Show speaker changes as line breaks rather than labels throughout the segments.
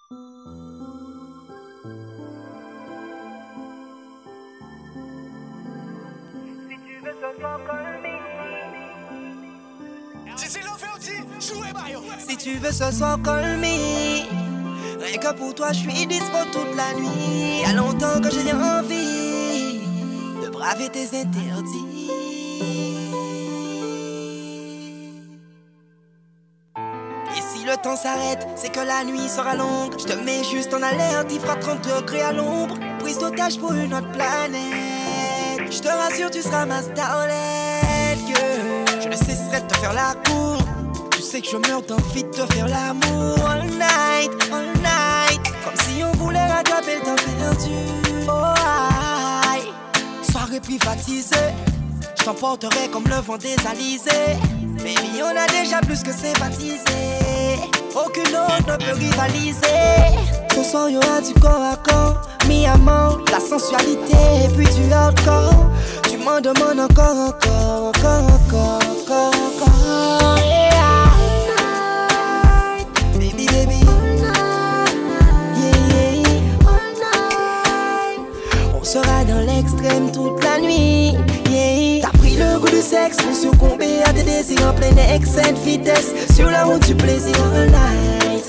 Si tu veux ce soir, call me. Rien que pour toi, je suis dispo toute la nuit. Y'a longtemps que j'ai envie de braver tes interdits. Et si le temps s'arrête, c'est que la nuit sera longue. Je te mets juste en alerte, il fera 30 degrés à l'ombre. Prise d'otage pour une autre planète. Je te rassure, tu seras ma starlet, girl. Je ne cesserai de te faire la cour. Tu sais que je meurs d'envie de te faire l'amour. All night, comme si on voulait rattraper le temps perdu. Oh aïe, soirée privatisée. Je t'emporterai comme le vent des alizés. Baby, on a déjà plus que sympathisé. Aucune autre ne peut rivaliser. Ce soir y'aura du corps à corps, mi-amant, la sensualité et puis du hardcore. Tu m'en demandes encore, yeah. Baby, on sera dans l'extrême toute la nuit, yeah. T'as pris le goût du sexe pour succomber à tes désirs en pleine excès de vitesse. Sur la route du plaisir all night,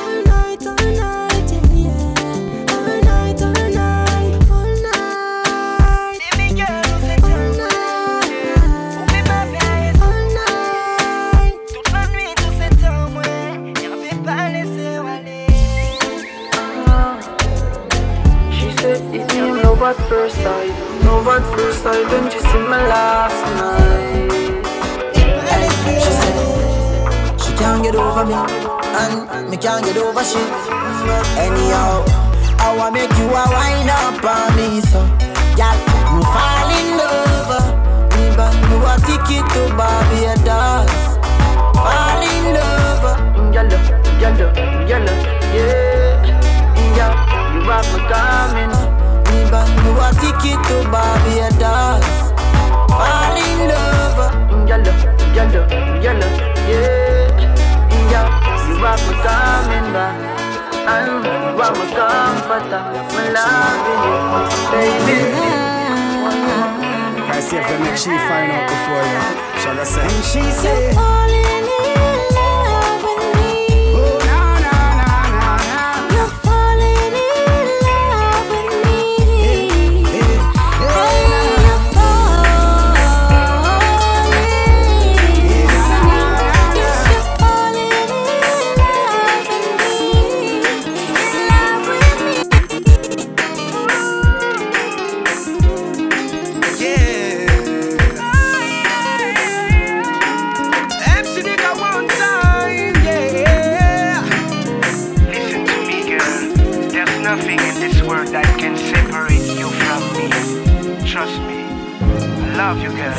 yeah. All night, all night. Baby girl, on s'est all night. Oublie ma vie, all night. Toute la nuit, tout cet temps, ouais. Y'en vais pas laisser aller.
She said it's you love at first sight. Love at first sight, don't you see my last night? She said she can't get over me, and me can't get over she. Anyhow, I wanna make you a wind up on me, so y'all, me fall in love. Me buy you a ticket to Barbados. Fall in love, yalla, yeah. You have me coming. Me buy you a ticket to Barbados. Fall in love, yalla, yeah. You have me coming back. I'm my comforter, my loving you, baby.
I see if they make she find out before you. Shall I say?
And she said,
falling in love with me.
Oh, na.
You're falling in love with me. Hey, you're falling. Yes, you're falling in love with me. In love with me.
yeah. MC Dika one time, yeah.
Listen to me, girl. There's nothing in this world that can separate you from me. Trust me. I love you, girl.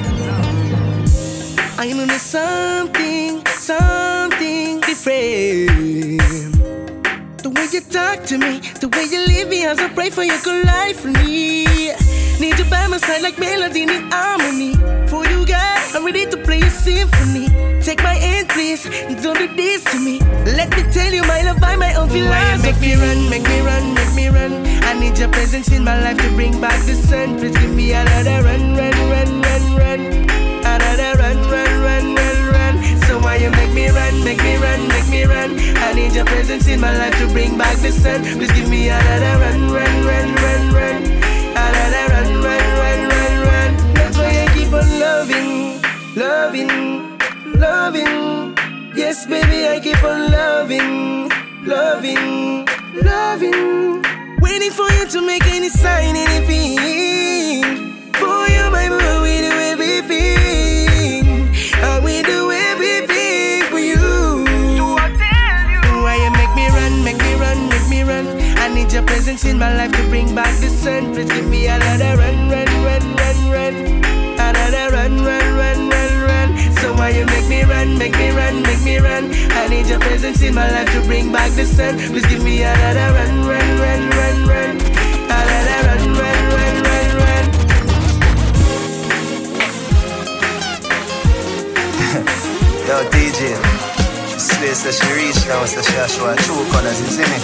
I know there's something different. The way you talk to me, the way you leave me as I pray for your good life for me. Need you by my side like melody in harmony. For you, girl, I'm ready to play a symphony. Take my hand, please, don't do this to me. Let me tell you my love by my own philosophy. Make me run. I need your presence in my life to bring back the sun. Please give me another run. Another run. So why you make me run? I need your presence in my life to bring back the sun. Please give me another run. Another run. That's why I keep on loving. Yes, baby, I keep on loving. Waiting for you to make any sign, anything. For you, my boy, we do everything. And we do everything for you.
So I tell you.
Why you make me run? I need your presence in my life to bring back the sun. Please give me another run. Another run. So why you make me run? I need your presence in my life to bring back the sun. Please give me another run. Another run.
Yo, DJ, place that she reached now, so she has show her true colors, you see me?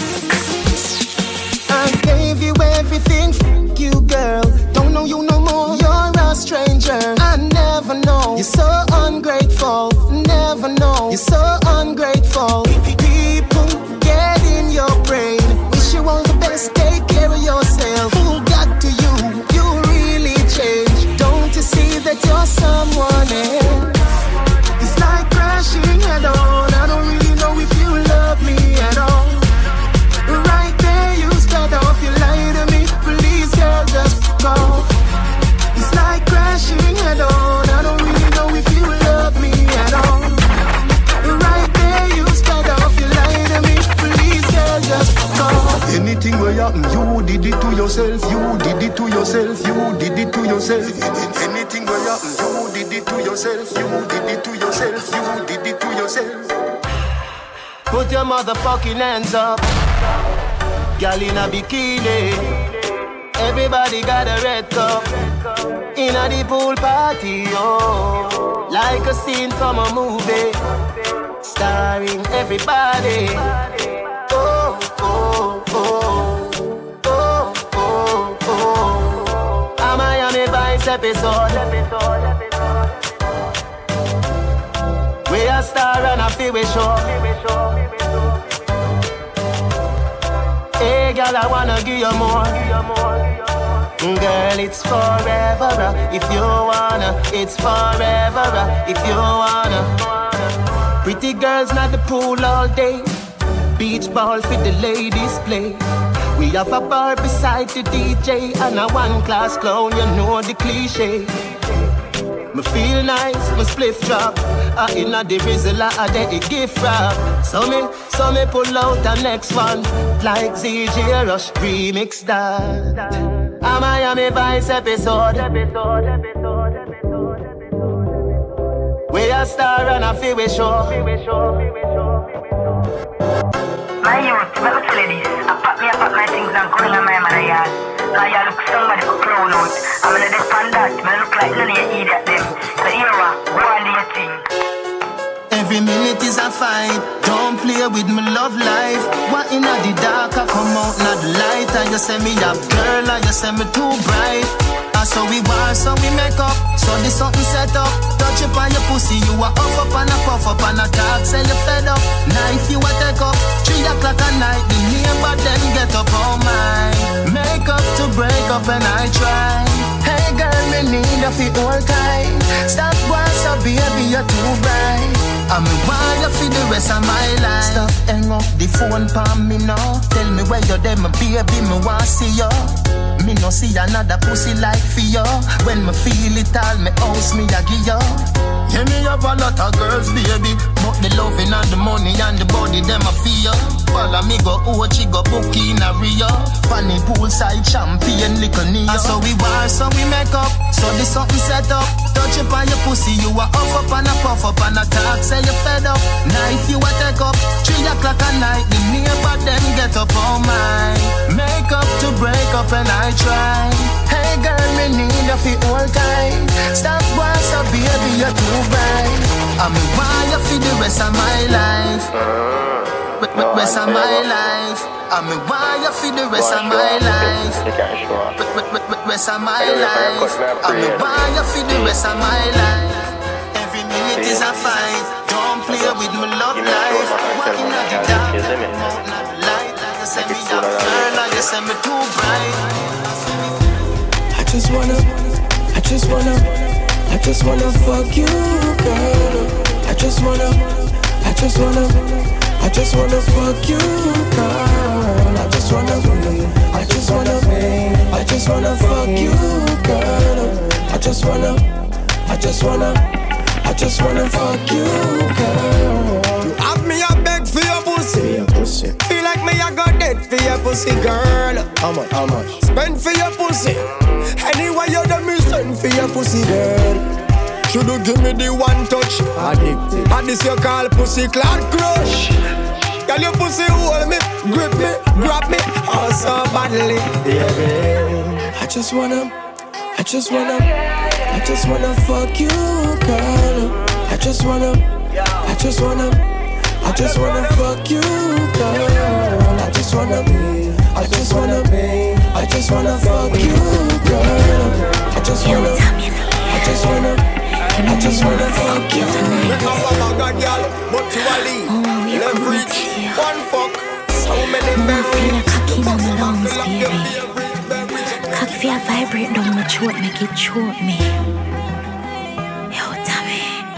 I gave you everything, f*** you girl. Don't know you no more, you're a stranger. I never know, you're so ungrateful. Never know, you're so ungrateful. People get in your brain. Wish you all the best, take care of yourself. Who got to you? You really changed. Don't you see that you're someone else? It's like crashing head on. I don't really know if you love me at all. Right there you start off, you lie to me. Please girl, just go. It's like crashing head on. I don't really know if you love me at all. Right there you start off, you lie to me. Please girl, just go.
Anything will happen, you did it to yourself. You did it to yourself. You did it to yourself. Anything will happen, you did it to yourself. You did it to yourself. You did it to yourself.
Put your motherfucking hands up. Girl in a bikini. Everybody got a red cup. In a the pool party, oh. Like a scene from a movie. Starring everybody. Oh, oh, oh. Oh, oh, oh. A Miami Vice episode. We a star and a feel we show. Hey girl, I wanna give you more. Girl, it's forever. If you wanna, it's forever. If you wanna. Pretty girls not the pool all day. Beach ball for the ladies play. We have a bar beside the DJ and a one-class clown, you know the cliche. Me feel nice, me spliff drop. Inna the rizzle, I de gift wrap. So me pull out the next one, like ZJ Rush remix that. A Miami Vice episode. We a star and a feel we show.
My youth, let me tell you this. I pack my things and go in my man yard. Cause you look somebody for clown out. I'm gonna depend that. I look like none of you idiot them. So here go on do your thing.
Every minute is a fight. Don't play with my love life. What in the dark, I come out in the light. And you say me have girl, and you say me too bright. And so we war, so we make up. So this something set up. Touch up on your pussy, you are up and a puff up and a talk. Say you fed up. Knife you a take up. 3 o'clock at night, the neighbor then get up all mine. Make up to break up and I try. Hey girl, me need a fit all time. Stop once, so baby, you're too bright. I'm wild you for the rest of my life. Stop hang up the phone for me now. Tell me where you're there, my baby, me want see you. Me no see another pussy like for you. When me feel it all, me house me a give you. Yeah, me have a lot of girls, baby, but the loving and the money and the body, them a feel. Follow me go Ochi, go Bookie in a Rio. Funny poolside champion, little Neo. And so we war, so we make up. So this something set up. Touch up on your pussy, you are up and a puff up and a talk. Say you fed up. Knife you a take up. 3 o'clock at night, the neighbor then get up on mine. Make up to break up and I try. Hey girl, me need a fit all time. Stop once, so baby, you're too bright. I'm wild you for the rest of my life. Rest of my life. I'm wild you for the rest of my life. Rest of my life. I'm wild you for the rest of my life. Every minute is a fight. Don't play with my love life. Walking at the dark, not the light. Like you say me a girl, like you say me too bright.
I just wanna fuck you, girl. I just wanna fuck you, girl. I just wanna fuck you, girl. I just wanna fuck you, girl.
You have me a beg for your pussy. Feel like me a go dead for your pussy, girl.
How much?
Spend for your pussy. Anyway you done me spend for your pussy, girl. Should you give me the one touch?
Addicted.
And this you call pussy cloud crush. Girl your pussy hold me, grip me, grab me, oh so badly, baby.
I just wanna fuck you, girl. I just wanna I just wanna fuck you, girl. I just wanna be. I just wanna be. I just wanna fuck you, girl. I just wanna. I just wanna. I just wanna fuck you.
We come from a god, girl, but you a lead. Leverage, one fuck. How many berries?
Cocky in my lungs, baby. Cock feel vibrate down my throat, make it choke me. Yo, Tommy.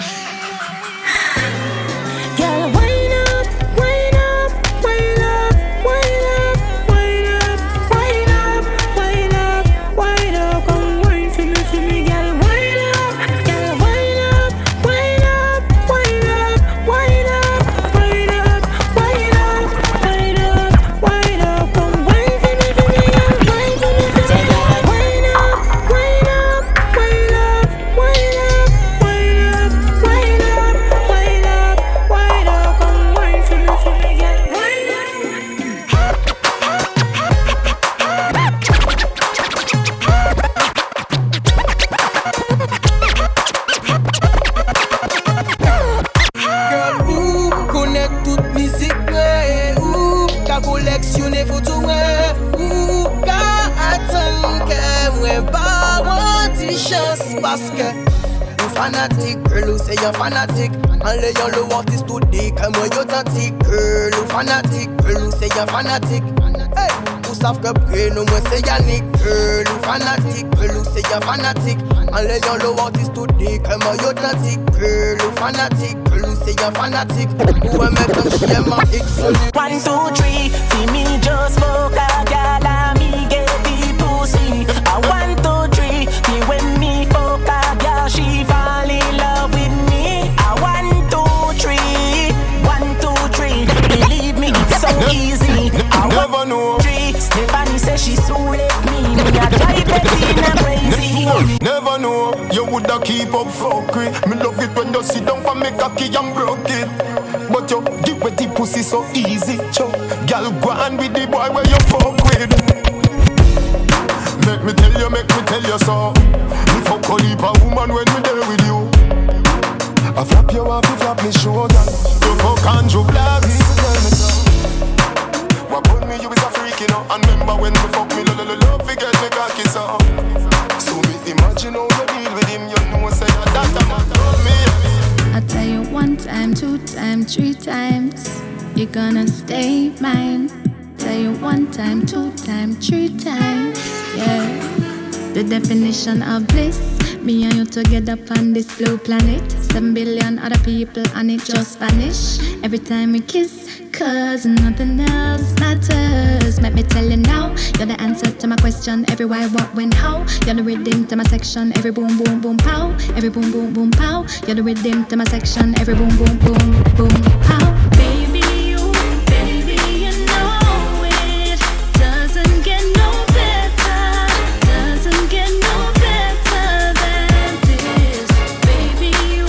Girl, wind up, wind up, wind up, wind up, wind up, wind up, wind up, wind up. Come wine for me, girl. Wind up, girl, wind up, wind up, wind up, wind up, wind up, wind up, wind up, wind up. Come wine for me, girl. Wine for me, girl. Wind up, wind up, wind up, wind up, wind up, wind up, wind up, wind up. Come wine for me, girl. Wind
Girl, ou connecte toute musique, ou ka collectionner photo, ou ka attendre que moi pas moi ti chance parce que you fanatic, girl, ou say you fanatic. And lay on the artist today, que moi you authentic, girl, ou fanatic, girl, ou say you fanatic. Hey, ou savent que prénom moi c'est Yannick, girl, ou fanatic, girl, ou say you fanatic. And lay on the artist today, que moi you authentic, girl, ou fanatic, girl, ou say you fanatic. Who am I come share my excellence?
1, 2, 3, see me just fuck a girl and me get the pussy. 1, 2, 3, me when me fuck a girl, she fall in love with me. 1, 2, 3, 1, 2, 3, believe me, it's so easy.
Never know.
3, Stephanie says she so left me. Me a drive Bettina crazy.
Never know, you woulda keep up fuck with. Me love it when you sit down for me cocky and broke it. But you give with the pussy so easy, cho. Girl, go on with the boy where you fuck with. Make me tell you so. Me fuck a heap of woman when me there with you. I flap you off, you flap me shoulder. You fuck Andrew Black. Tell me so. What put me, you is a freak, you know. And remember when me fuck me, love, forget me cocky so. So me imagine how you deal with him, you know say that a man told me.
I tell you 1 time, 2 times, 3 times, you're gonna stay mine. Tell you 1 time, 2 times, 3 times, yeah. The definition of bliss, me and you together on this blue planet. 7 billion other people and it just vanish every time we kiss, cause nothing else matters. Let me tell you now, you're the answer to my question. Every why, what, when, how. You're the rhythm to my section. Every boom, boom, boom, pow. Every boom, boom, boom, pow. You're the rhythm to my section. Every boom, boom, boom, boom, pow. Baby, you know it doesn't get no better. Doesn't get no better than this. Baby, you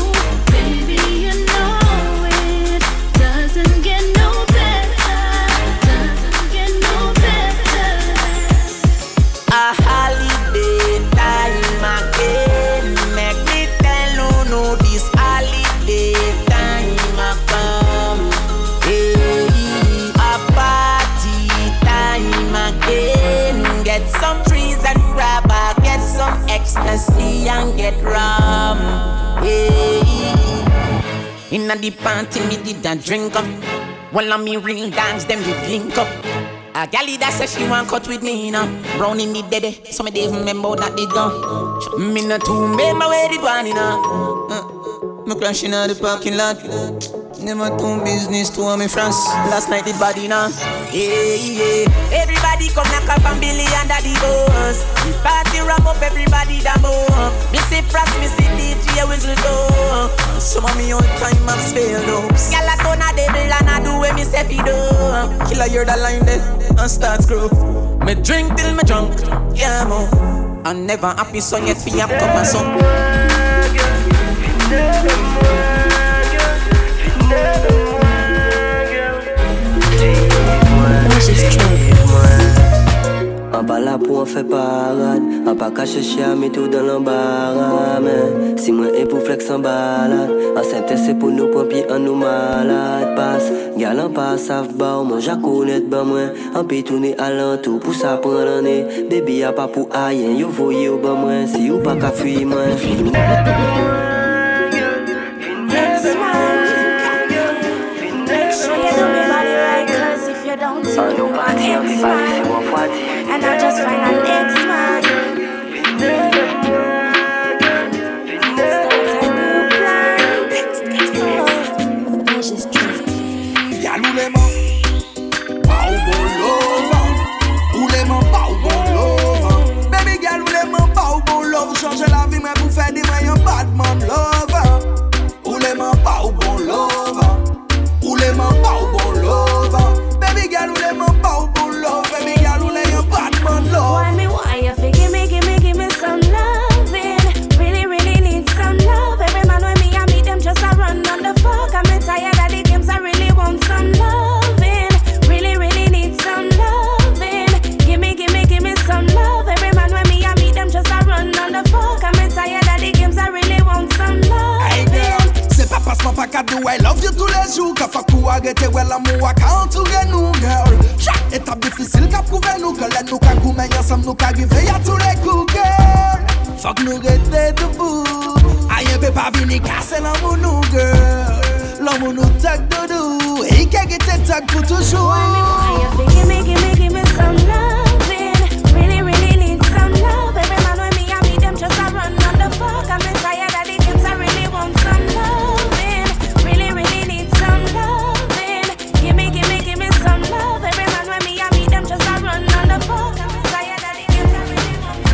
know it doesn't get no better. Doesn't get no better.
A holiday time again. Make me tell you no this holiday time a come. Hey, a party time again. Get some trees and grabber, get some ecstasy and get rum. Hey, inna the party me did a drink up. While on me ring dance, them we link up. A galley that says she want cut with me, you know. Brown in me dead, so me don't remember that they gone. Me not to remember where they gone, you know. Me crashing out the parking lot. Never do business to me France. Last night it body now. Yeah. Everybody come knock up and Billy under the bus. The party wrap up, everybody that move. Me see France, me see DJ whistle go. Some of me all time I'm spelled up. Gyal a turn a devil and I do what me say fi do. Killer hear that line there and start screw. Me drink till me drunk, yeah mo. And never happy so yet fi up cup and some.
pas là pour en faire parade. On pas cacher chien, mais tout dans l'embarras. Mais si moi et pour flex en balade, enceinte c'est pour nous pompiers, en nous malades. Passe, galant pas, savent bas, moi j'acconnais de moi. En pays tourner à l'entour, pour ça prendre l'année. Baby y'a pas pour rien, yo voyez au bas moi. Si ou pas qu'à fuir moi, film.
Don't do my ex-man, and I just find an ex-man. Start a new plan. It's just true.
Y'a l'oulément, pas au bon love. Oulément, pas au bon love. Baby girl, oulément, pas au bon love. Changer la vie, mais pour faire des moyens, bad man love. Oulément, pas au bon love. Oulément, pas au bon love. Baby girl, who let me bow for love? Baby girl, who let you bad man love?
Why you fi give me some loving? Really, really need some love. Every man with me, I meet them just a run on the fuck. I'm tired of the games, I really want some loving. Really, really need some loving. Give me some love. Every man with me, I meet them just a run on the fuck. I'm tired of the games, I really want some loving.
C'est pas parce qu'on pas qu'à do I love you tous les jours. Qu'à faire pour arrêter, ouais, l'amour à qu'entourer nous, girl. Chaque étape difficile qu'a prouvé nous, que l'aide nous qu'a goûté ensemble, nous qu'a arrivé à tous les coups, girl. Faut que nous rester debout. Aïe, peut pas venir casser l'amour, nous, girl. L'amour nous tag doudou. Et qu'il y ait tag pour toujours.
Why you fi give me some loving? Really, really need some love. Every man with me, I meet them just a run on the fuck. I'm tired of the games, I really want some loving. Really, really need some loving. Give me some love. Every man with me, I meet them just a run on the fuck. I'm tired of the games, I really want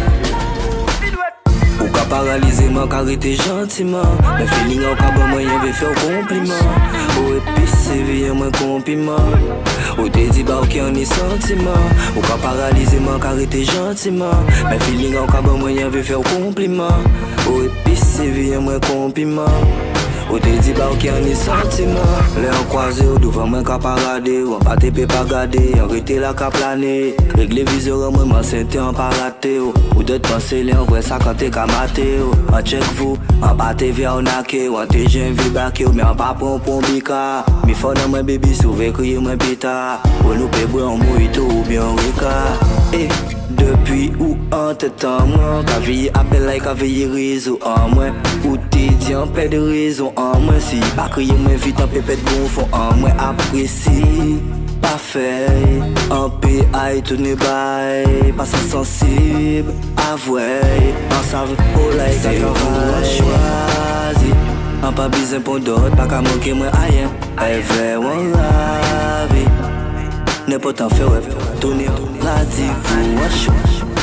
some love.
Ou ka paralyser man, arrêter gentiment. Mais feeling en cabot moyen veut faire compliment. Ou épicer vie moins compliment. Ou te dit bah ok on est sentiment. Ou ka paralyser man, arrêter gentiment. Mais feeling en cabot moyen veut faire compliment. Ou épicer vie moins compliment. Ou te dit bah ok on est sentiment. Les en croisé ou devant moi qu'à parader. Ou en pas te peut pas garder. En rete la qu'à planer. Régler viseur en moi m'enceinte en pas rater. Ou d'autres penser les en vrai ça quand t'es qu'à mater. En check vous, en pas te via on ake. Ou en te j'aime vie backé. Mais en pas pour bika. Mi fon dans moi baby sauvé crier moi pita. Ou nous peut boire en mojito ou bien en rica. Et depuis où en te temps moi. Qu'à veiller appel like qu'à veiller réseau en moi. Ou t'es dit en paix de raison en moi. Si pas crier moi vite en pépette bon fond en moi. Apprécie pas fait en PI tout ne bail. Pas sensible avoué. En savent pour like ça qu'on choisi. En pas besoin pour d'autres. Pas qu'à manquer moi rien. Elle veut on la vie. N'importe en fait ouais. Tourner radis-vous à chaud.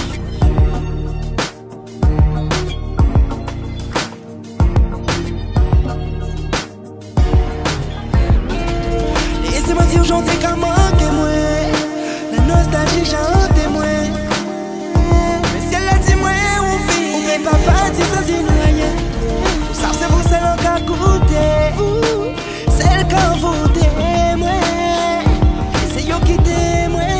Laissez-moi dire j'en ai qu'à manquer moi. La nostalgie chante moi. Mais si elle a dit moi on vit. On peut pas partir sans dire rien. Ça c'est vous celle qui a goûté. Vous, celle qui a voté moi. C'est yo qui t'aime moi.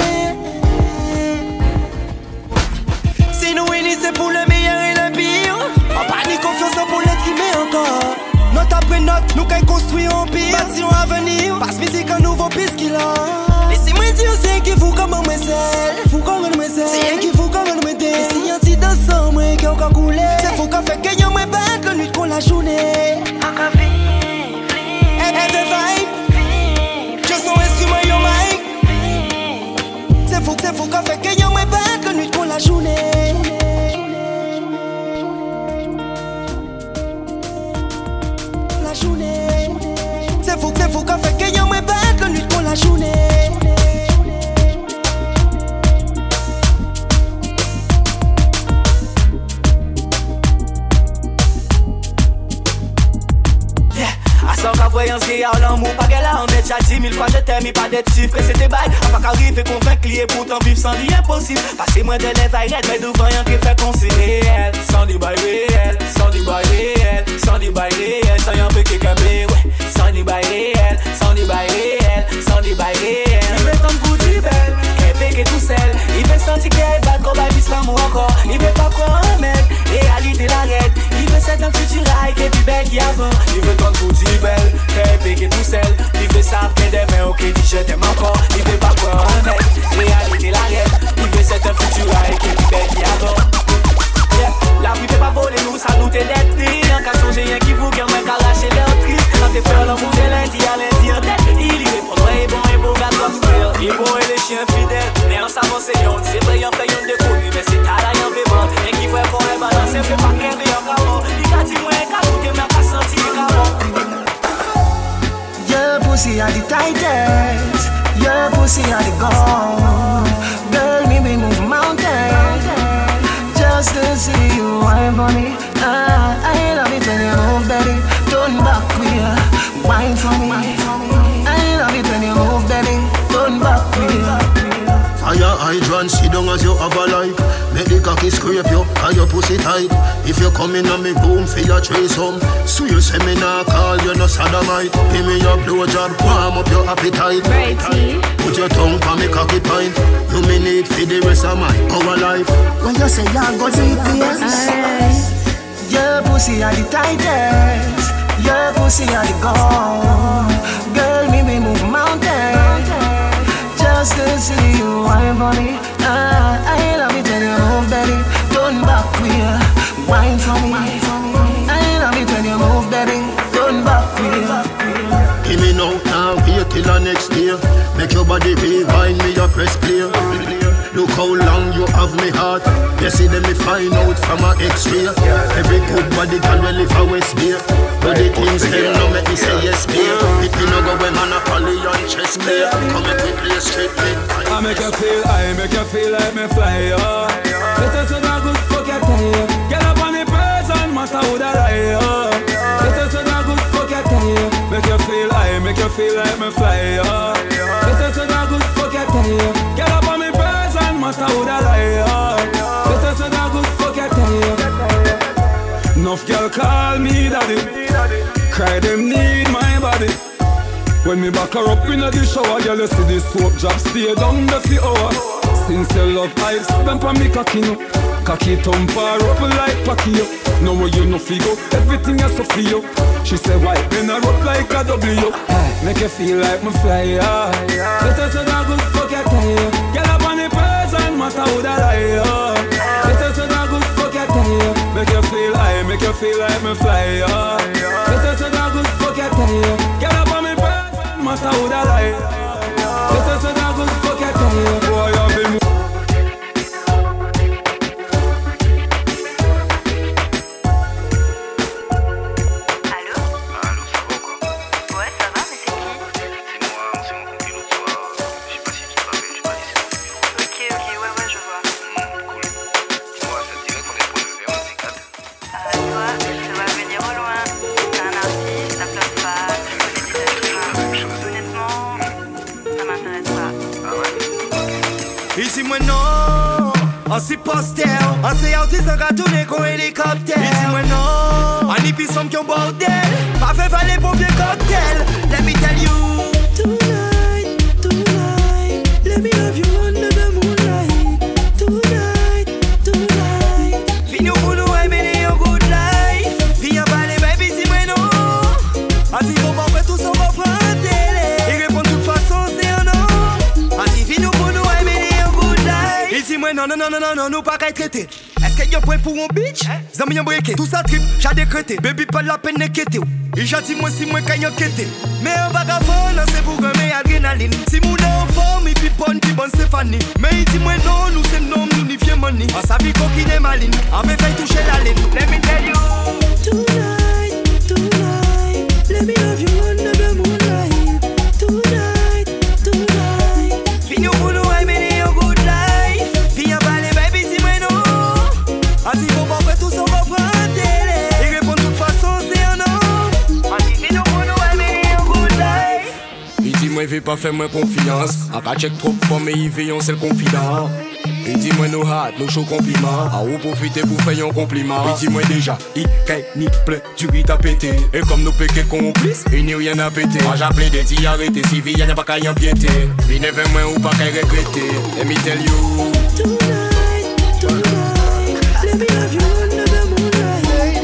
Si nous unis c'est pour le meilleur et le pire. En pas ni confiance pour l'être qui met encore. Note après note, nous qu'à construire un pire. Bâtir un avenir, passe musique un nouveau piste qu'il a. Laissez-moi dire c'est qui vous comme moi c'est. Vous comme moi c'est. C'est qui vous comme moi c'est. Et si un petit dansant moi qui a encore coulé. C'est vous qui fait que y'en me battre la nuit qu'on la journée. Encore vive, vive. Vive. Je sens instrument yo mic. C'est vous qui fait que y'en me battre la nuit qu'on la journée. C'est vous qui fait que y'en me battre la nuit pour la journée.
Sans qu'à voyance qui a l'amour, pas qu'elle a en être chaque 10 000 fois je t'aime, mais pas d'être chiffre, que c'était bail. A pas qu'arriver convaincre lié, pourtant vivre sans lui impossible. Passer moins de lèvres à mais devant rien qui fait qu'on s'est réel. Sans du bail réel, sans du bail réel, sans du bail réel, sans y'en peut quelqu'un ouais. Sans du bail réel, sans du bail réel, sans du bail réel. Il veut tant de vous du belle, qu'elle fait que tout seul. Il veut sentir qu'elle bat l'amour encore. Il veut pas croire un mec, réalité l'arrête. Il veut cette un futur high qui est plus belle qu'avant. Il veut ton bouti belle, crêpe qui tout seul. Il veut ça après des mains, ok, dit je t'aime encore. Il veut pas croire un mec, réalité l'arrête. Il veut cette un futur high qui est plus belle qu'avant. La vie peut pas voler nous, ça nous t'est d'être pris. En cas changer rien qui vous gagne, mais qu'à lâcher leur triste. Quand t'es fait l'amour de lundi à lundi en tête. Il y répond, ouais, bon, et beau, gars, comme style. Il bon et les chiens fidèles. Mais en savant c'est yon, c'est vrai, y'en fait yon de connu. Mais c'est ta la y'en fait bon. Et qui fait pour un balance, c'est fait pas qu'un rien qu'avant. Il a dit, moi, qu'à tout, mais qu'à sentir qu'avant.
Your pussy are the tightest. Your pussy are the gold. Girl, me we move mountains just to see you wine for me. I love it when you move, baby. Turn back queer, wine for me. I love it when you move, baby. Turn back queer.
Fire hydrant, sit down as you have a life. Make the cocky scrape you, and your pussy tight. If you come in on me boom, feel a trace home. So you say me nah call, you no sodomite. Give me your blowjob, warm up your appetite. Put your tongue on me cocky pint. You me need for the rest of my our life.
When you say you're gonna see your pussy are the tightest. Your pussy are the gold. Girl, me we move mountains just to see you wine for me. I love it when you move, baby. Turn back queer, wine for me. I love it when you move, baby. Turn back queer.
Give me now, wait till the next day. Make your body rewind me, your press play. Look how long you have me heart. You see them me find out from a X-ray. Every good body can well live a West Bay. But the things them no make me say yes, babe. It me no go when man a poly on chess play. Come make me play straight play.
I make you feel like me fly, oh. Let us know good fuck your time. Get up on the person, matter who that lie, oh. Let us know good fuck your time. Make you feel like me fly, oh. Let us know good fuck your time. Get up on the person, matter who that lie, oh. Let us know good fuck your time. Enough girl call me daddy. Cry them need my body. When me back her up in the shower, girl you see this soap drop stay down the few hour. Since you love I stamp on me cocky no. Cocky thump her up like Pacquiao. Know where you no figo, everything is so for you. She say why, bend her up like a W. Make you feel like me fly, yeah. Let us know good fuck your time. Get up on the person, matter who that lie, yeah. Let us know good fuck your time. Make you feel like me fly, yeah. Let us know good fuck your time. Get up on me person, matter who that lie. Let us know good fuck your time. Boy, I've been
Ici moi non, on s'y poster, on s'y artiste en ratourné qu'on hélicoptère. Ici moi non, on y pisse qui ont bordel, pas fait valer pour vieux cocktail. Let me tell you, tonight, let me love you under the moonlight. Tonight, fini pour nous aimer un good life. Puis y'a pas les baby si moi non, ainsi qu'on va faire tout ça, on va prendre télé. Et répondre de toute façon c'est un non, ainsi fini pour nous aimer. Ici moi non, nous pas qu'à traiter. Est-ce qu'il y a un point pour un bitch? Zami y'a breaké, tout ça trip, j'ai décrété. Baby pas de la peine d'inquiéter. Et j'ai dit moi si moi quand y'a quitté. Mais un vagabond, c'est pour gagner adrénaline. Si mon en forme, il pipe bonne, qui bonne Stéphanie. Mais il dit moi non, nous c'est non, nous n'y viens money. On s'habille coquine et maline, avec fait toucher la ligne. Let me tell you, tonight, let me love you under the moonlight. Tonight, fini pour nous aimer un good life. Puis y'a pas les baby si moi non. Ainsi qu'on va faire tout ça, on va prendre télé. Et répondre de toute façon c'est un non. Ainsi fini pour nous aimer un good life.
Il dit moi il veut pas faire moi confiance. A pas check trop fort mais il veut c'est le confident. Il dit moi nous hâte, nous chaud compliment. A ou profiter pour faire un compliment. Il dit moi déjà, il caille ni plein, tu vis à péter. Et comme nous péquets complices, il n'y a rien à péter. Moi j'appelais des dits arrêtés, si vie y'a pas qu'à y empiéter. Venez vers moi ou pas qu'à regretter. Let me tell you,
Let me have you under the moonlight.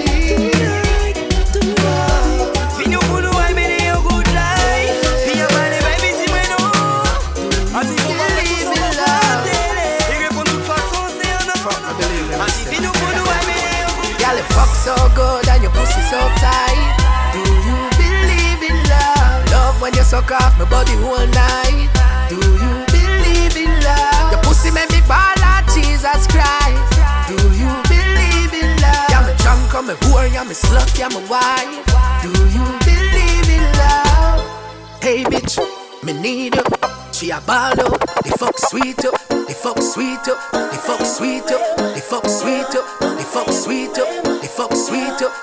Tonight. Fino pour nous, I made a good life. Be a man, baby, si moi non. As if you believe in love. Il répond de toute façon, c'est un enfant. As if fino pour nous, I made a good life.
Girl, it fuck so good and your pussy so tight. Do you believe in love? Love when you suck off my body whole night. Do you believe in love? Your pussy make me ball like Jesus Christ. Do you believe in love? Yeah, me drunk, I'm a whore, yeah, me slut, yeah, me wife. Do you believe in love? Hey bitch, me need you. She a ball up, they fuck sweet up, they fuck sweet up, they fuck sweet up, they fuck sweet up, they fuck sweet up, they fuck sweet up,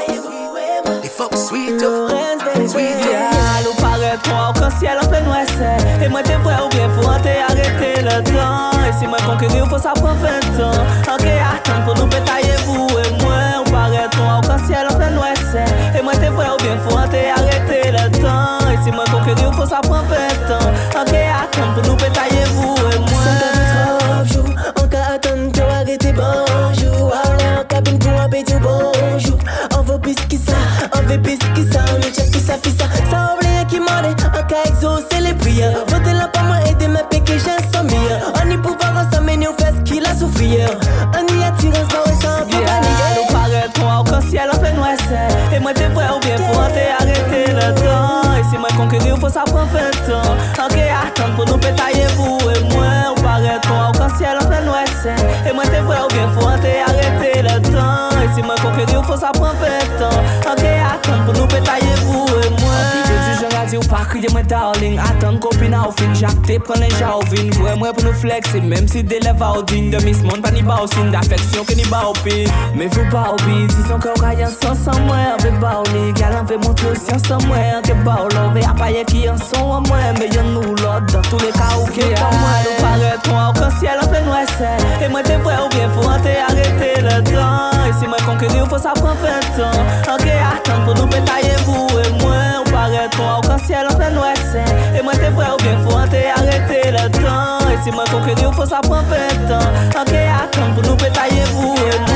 they fuck sweet up, sweet up.
Ou paraît toi au ciel en plein ouest. Et moi t'es vrai ou bien faut arrêter le temps. Et si moi conquérir faut ça prend 20 ans. Ok, attends pour nous pétailler vous et moi. Ou paraît toi au ciel en plein ouest. Et moi t'es vrai ou bien faut arrêter le temps. Et si moi conquérir faut ça prend 20 ans. Ok, attends pour nous pétailler vous et moi.
Ça fait 3 jours, encore attendre que arrêter bonjour. Alors en cabine pour un petit bonjour. On veut plus qui ça, on veut plus qui ça. On check qui ça fait ça. Ça oublie qui m'en est, en cas exaucer les prières. Votez là pour moi aider ma péché, j'ai 100 000. On y pouvoir ensemble, mais on fait ce qu'il a souffert. On y attire un sport et sans paniquer.
Nous paraît toi au ciel en plein ouest. Et moi t'es vrai ou bien faut arrêter le temps. Et si moi conquérir faut ça prend 20 ans. Ok, attends pour nous pétailler vous et moi. Ou paraît toi au ciel en plein ouest. Et moi t'es vrai ou bien faut arrêter le temps. Et si moi conquérir faut ça prend 20 ans. Ok, attends pour nous pétailler vous et moi. Ou pas crier moi darling. Attends copine au fin. Jacques prends les jarvines. Moi pour nous flexer. Même si des lèvres au digne de Miss Monde. Pas ni bas au signe d'affection que ni bas au pied. Mais faut pas oublier. Si son corps a un sens sans moi. On veut pas oublier. Gal on veut montrer aussi sans moi. Que pas ou l'on veut appayer qui en sont à moi. Mais y'en nous l'autre. Dans tous les cas où qui est pas moi. Nous paraît toi au ciel en plein ouest. Et moi t'es vrai ou bien faut arrêter le temps. Et si moi conquérir faut ça prend 20 ans. Ok, attends pour nous pétailler vous et moi. Ou paraît toi au ciel en plein ouest. Et moi t'es vrai ou bien faut arrêter le temps. Et si moi conquérir faut ça prend 20 ans. Ok, attends pour nous pétailler vous et moi.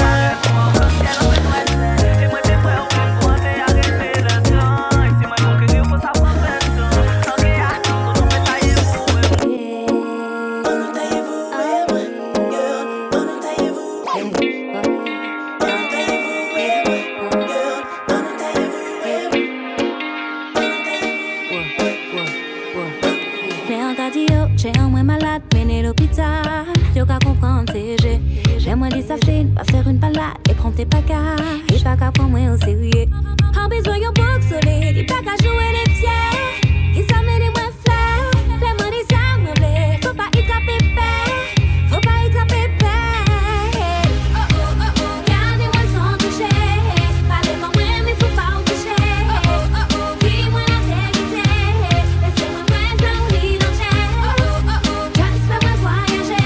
J'aimerais dire ça fait, pas faire une balade et prendre tes bagages. Et pas qu'à prendre moi au sérieux. En besoin yon book solide, et pas qu'à jouer les fiers. Qui ça met des moins fleurs, les mains des armes blés. Faut pas y taper paix, faut pas y taper paix. Oh oh oh oh, gardez-moi sans toucher. Parlez-moi moi mais faut pas en toucher. Oh oh oh oh, dis-moi la vérité. Laissez-moi faire ça ou l'y danger. Oh oh oh oh, juste fais-moi voyager.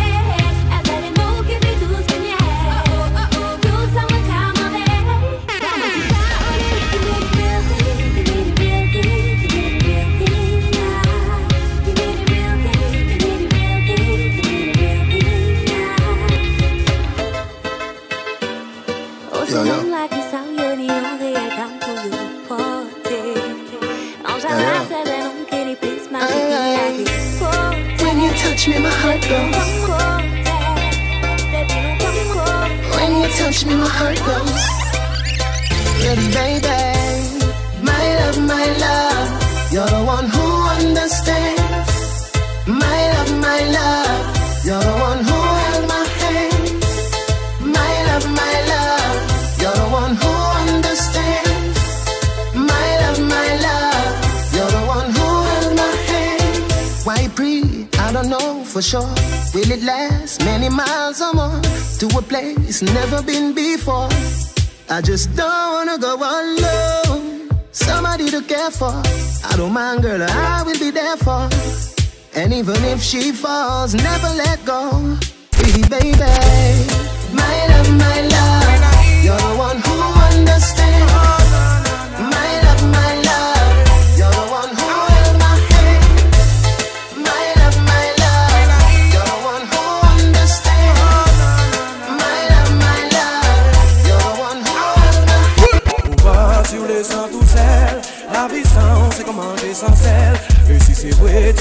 When you touch me, my heart goes. When you touch me, my heart goes.
Ready, baby, my love, you're the one who understands. My love, you're the one who held my hand. My love, you're the one who understands. My love, you're the one who held my hand. Why breathe? I don't know for sure. Will it last many miles or more to a place never been before? I just don't wanna go alone. Somebody to care for. I don't mind, girl, I will be there for. And even if she falls, never let go. Pretty baby, my love, you're the one who understands. My love, you're the one who held my hand. My love, you're the one who understands.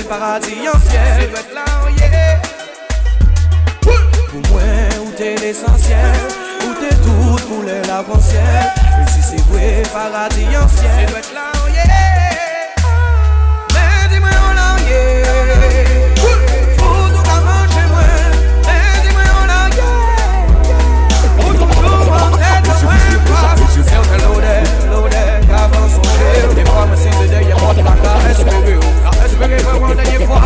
paradis ancien. C'est votre là, yeah. Pour moi, où t'es l'essentiel, où t'es tout pour l'arc-en-ciel. Et si c'est vrai, paradis ancien. C'est votre là, yeah. Mais dis-moi, on a, yeah. Faut tout qu'à manger, moi. Mais dis-moi, on a, yeah. Faut tout jour, en tête, moi, pas. C'est que loaded, avant son jeu. Des fois, me c'est de derrière moi, la caresse, espérez vraiment dernière fois.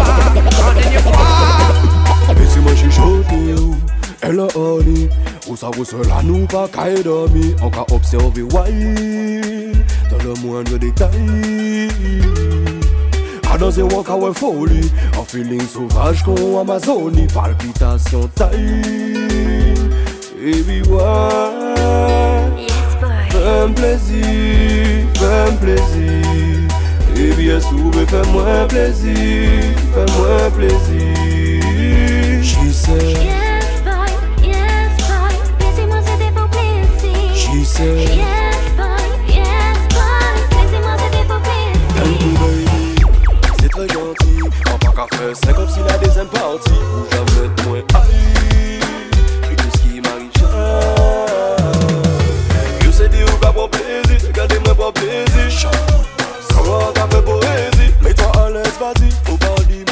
Mais si moi j'ai choqué, elle a honey. Où ça vous seul à nous pas qu'à dormir. On qu'a observé wild dans le moindre détail. À danser walk away folie. En feeling sauvage qu'on Amazonie. Palpitation taille. Baby why? Fais-moi plaisir. Et bien souvent fais-moi plaisir. She said
yes boy, laissez-moi c'était pour plaisir.
She said
yes boy, laissez-moi c'était pour plaisir.
C'est très gentil, en tant qu'à faire, c'est comme si la deuxième partie où jamais de moins aïe. Et tout ce qui m'arrive, je sais dire ou pas pour plaisir, regardez-moi pour plaisir. Ça va, t'as fait poésie, mets-toi à l'aise, vas-y, faut pas dire.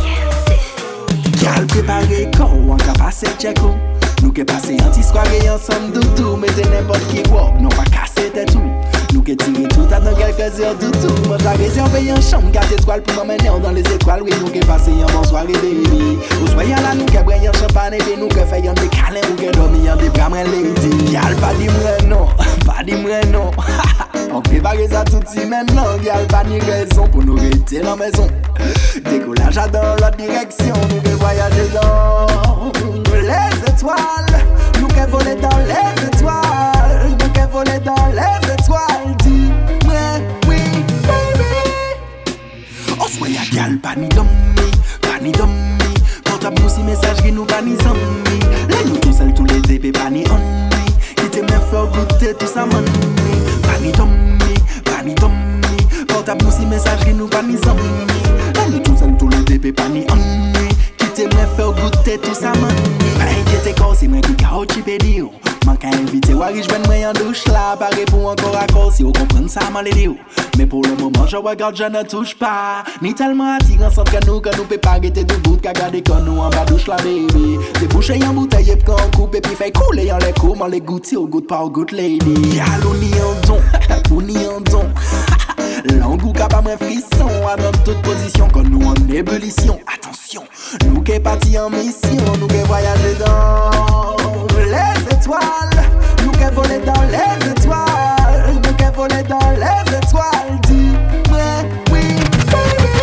Gal préparé quand on va passer tchèque. Nous qui passé anti-soirée ensemble doudou. Mettez n'importe qui walk, non pas casser tes tout. Nous qui tiré tout à dans quelques heures doudou. Moi j'ai réservé un chambre 4 étoiles pour m'emmener dans les étoiles. Oui, nous qui passé un bon soirée baby. Vous soyez là, nous qui brillons champagne et nous qui faisons des câlins. Nous qui dormons des bras lady. Gal pas dit moi non. On prépare ça tout de suite maintenant. Gal pas ni raison pour nous rester dans la maison. Décollage dans l'autre direction. Nous qui voyager dans les étoiles. Nous qui voler dans les étoiles. Nous qui voler dans les étoiles. Dis-moi oui baby. On soit y'a gal pas ni d'homme. Portable nous si message qui nous pas ni zombie. Là nous tout seul tous les épées pas ni on. Qui te me fait goûter tout ça money. Pas ni d'homme. Portable nous si message qui nous pas ni zombie. Là nous tout seul tous les épées pas ni on. Qui te me fait goûter tout ça money. Pas inquiéter quand c'est moi qui cao chipédi. Manque à inviter Wari je vais en douche là. Pas répondre encore à cause si vous comprenez ça mal les mais pour le moment je regarde je ne touche pas. Ni tellement attirant sans que nous peut pas arrêter de bout qu'à garder quand nous en bas douche la baby. Déboucher en bouteille et quand on coupe et puis fait couler en les coups. Les goûter au goût pas au goût lady. Yal ou ni en don. L'angou capable un frisson à dans toute position quand nous en ébullition. Attention, nous qui partis en mission. Nous qui voyager dans les étoiles. Nous qui voler dans les étoiles. Nous qui voler dans les étoiles. Dis-moi oui baby.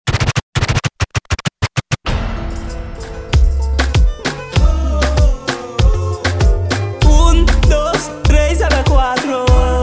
1, 2, 3, 4.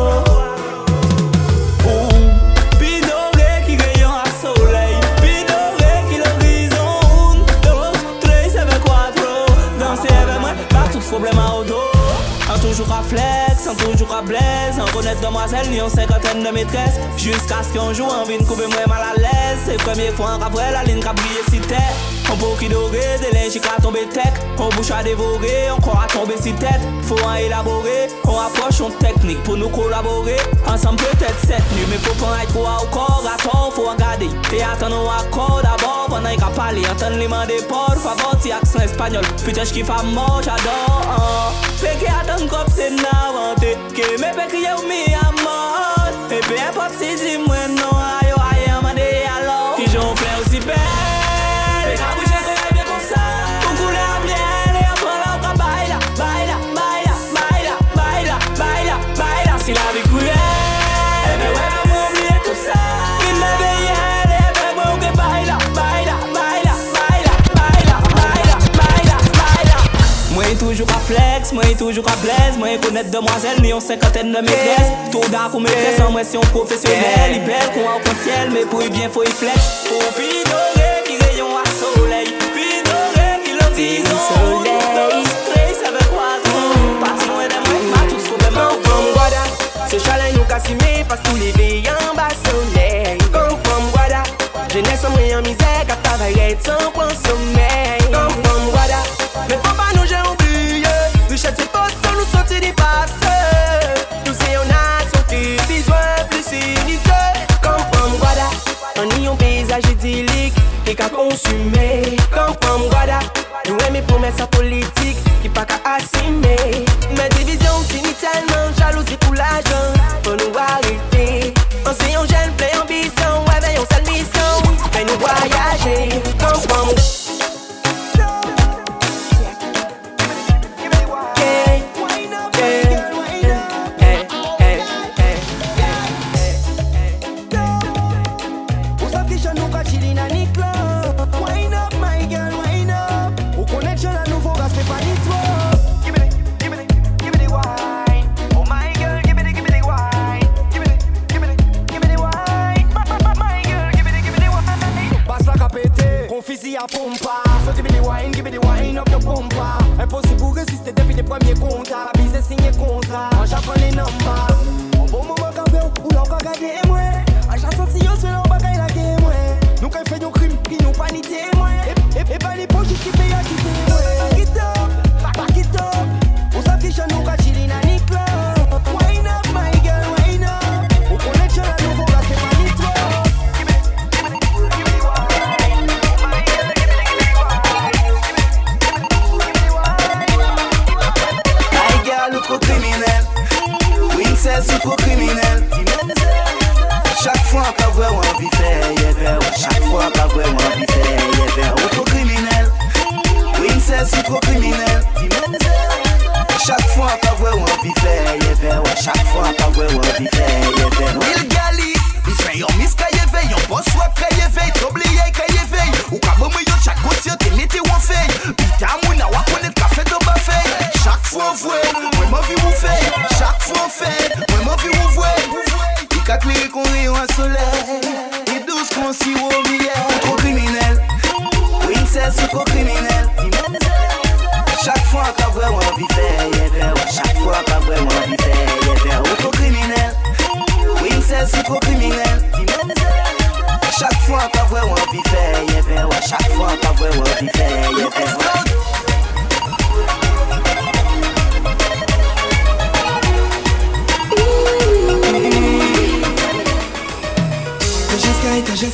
Problème à auto, en toujours à flex, en toujours à blaise, en connaître demoiselle, ni en cinquantaine de maîtresses. Jusqu'à ce qu'un jour, envie de couper moi mal à l'aise. C'est première fois en après la ligne qui a brillé si tête. On peut qui doré, des linges qui a tombé tech. On bouche à dévorer, on croit à tomber si tête. Faut en élaborer, on approche une technique pour nous collaborer. Ensemble peut-être cette nuit, mais faut pas être trop au corps. À tort, faut en garder. Et attendre un accord d'abord, pendant qu'il a parlé. Entendre les mains des portes, favor, si accent espagnol. Putain, je kiffe à mort, j'adore. Fait qu'il attend comme c'est n'inventé. Que mes pécriers ou mis à mort. Et peu importe si dis-moi non, aïe, aïe, amandé alors. Qui j'en fais aussi belle. Les cabouches, c'est bien comme ça. Pour couler à bien, et après là, on va baila, baila, baila, baila, baila, baila, baila. Si la vie coulait, et bien ouais, maman, oublier tout ça. Il me veillait, et bien moi, on que baila, baila, baila, baila, baila, baila, baila, baila. Moi, toujours à flex, moi, toujours à blaise. Moi, connaître demoiselle, ni en cinquantaine de maîtresses. Tout d'accord, maîtresse, en moi, si on professionnel. Il belle qu'on a au ciel, mais pour y bien, faut y flex. Pour pidorer, qui rayon à soleil. Pidorer, qui l'en disons. Soleil. Ça veut quoi, pas loin de moi, pas tout ce qu'on demande.
Ce chalet nous cassime, passe tous les veillants en bas soleil. Comme guada, jeunesse en moyen misère, est temps pour sommeil. Comme from Guada, mais faut pas nous j'ai oublié. Richesse c'est pas sans nous sortir du passé. Nous c'est on a sauté, besoin plus unité. Comme from Guada, on y un paysage idyllique et qu'à consumer. Comme from Guada, nous aimons promesses à politique qui pas qu'à assumer. Mais division tellement jalousie pour l'argent. Faut nous arrêter. On s'est un jeune plein ambition, ouais veillons sa mission. Fais nous voyager, comme from
Fizzy à pompa, so give me the wine up your pompa. Impossible pour résister depuis les premiers contrats. La bise est signé contrat, en j'apprends les numbers. En bon moment quand même, ou l'on va gagner moi. En chanson si on se l'on va gagner la game moi. Nous quand fait nos crimes, qui nous pas ni témoin. Et pas les poches qui payent à quitter moi. Back it up, on s'affiche à nous quand il est dans les clubs. Wine up my girl, wine up. On connexion à nouveau, là c'est pas ni toi.
Trop criminel, Winsel c'est trop criminel. Chaque fois qu'à voir on vit faire, chaque fois qu'à voir on vit faire, trop criminel, Winsel c'est trop criminel. Chaque fois qu'à voir on vit faire, chaque fois qu'à voir on vit faire. Will Galis, il fait yon miss qu'à y yon boss soit qu'à y veille, t'oublier qu'à y veille, ou qu'à bon yon chaque gosse yon t'es l'été ou en fait, putain mouna wa connaître café de bafé. Chaque fois on voit, moi m'en vie vous fait. Chaque fois on fait, moi m'en vie vous voit. Il qu'a clairé qu'on rayon à soleil. Et douce qu'on s'y au milieu. Trop criminel, Winsel c'est trop criminel. Chaque fois qu'à voir on vit faire, chaque fois qu'à voir on vit faire, trop criminel, Winsel c'est trop criminel. Chaque fois qu'à voir on vit faire, chaque fois qu'à voir on vit faire.
T'as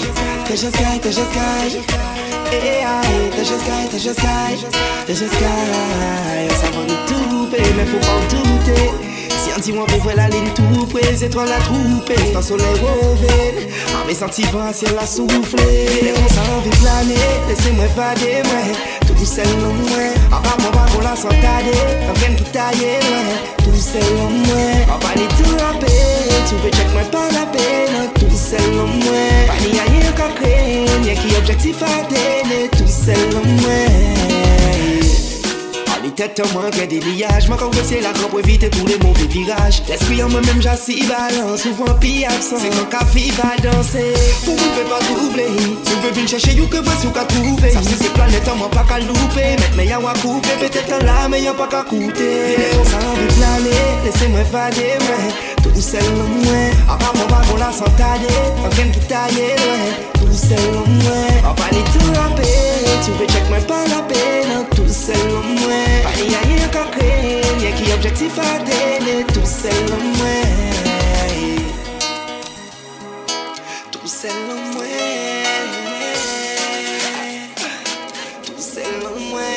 just sky, ça va nous tout payer, mais faut pas en douter. Si un dimanche on voit la ligne tout près, les étoiles la trouper. C'est un soleil revenu, en mes sentiments ciel a soufflé. Et on s'en envie planer, laissez-moi fader, moi. Tout seul en moi, en bas mon bagon la s'entader. Comme quelqu'un qui taille, moi. Tout seul en moi, en bas ni tout la paix. Tu veux check moi pas la peine, tout seul en moi. Pas ni rien qu'à créer, y'a qui objectif à donner. Tout seul en moi. Les têtes en moins que des liages. Moi quand c'est la grande pour éviter tous les mauvais virages. L'esprit en moi-même j'assis balance. Souvent pis absent. C'est quand qu'à vie va danser. Vous ne pouvez pas troubler. Si vous venez chercher you que voici ou qu'à trouver. Ça c'est planète en moi pas qu'à louper. Mettre mes yawa couper. Peut-être en là mais y'a pas qu'à coûter. On s'en veut planer. Laissez-moi fader ouais. Tout seul en moi. En bas mon wagon la s'entader. En quelqu'un qui taille tout seul en moi. En bas ni tout la paix. Tu veux check moi pas la peine. Tout seul en moi. Pas ni rien qu'à créer, y'a qui objectif à donner. Tout seul en moi. Tout seul en moi. Tout seul en moi.